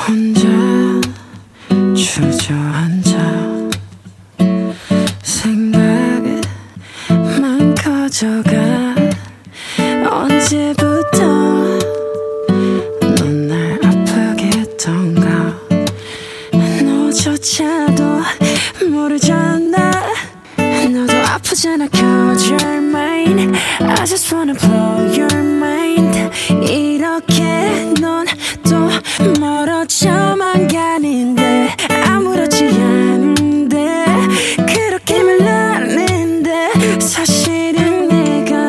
혼자 주저앉아 생각만 커져가. 언제부터 넌 날 아프게 했던가. 너조차도 모르잖아. 너도 아프잖아. Cause you're mine. I just wanna blow your mind. 이렇게 넌 또 멀어져만 가는데 아무렇지 않은데 그렇게 말하는데 사실은 내가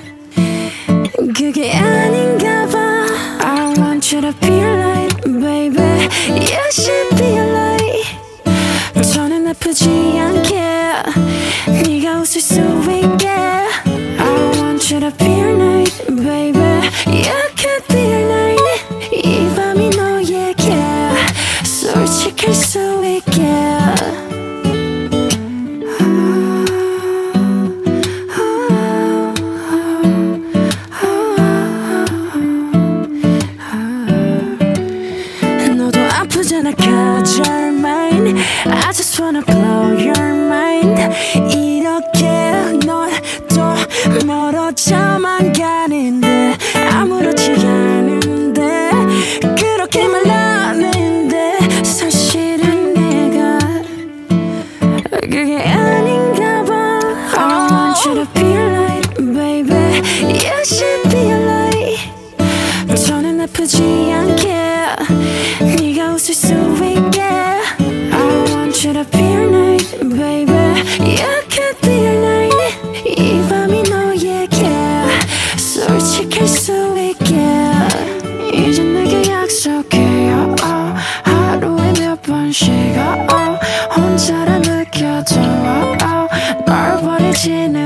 그게 아닌가 봐. I want you to be alright baby. You should be alright. 저는 아프지 않게 네가 웃을 수 있게. I want you to be alright baby. You could be alright. 이 밤이 너에게 솔직할 수 있게. 너도 아프잖아. Cause you're mine. I just wanna blow your mind. 이렇게 넌 또 멀어져만 가는데 아무렇지 않은데 그렇게 말하는데 사실은 내가 그게 아닌가 봐. I want you to be alright baby. You should be alright. 저는 아프지 않게 네가 웃을 수 있게. I want you to be alright baby. You could be alright. 이 밤이 너에게 솔직할 수 있게. 이제 내게 약속해 하루에 몇 번씩 혼자라 느껴도 널 버리지는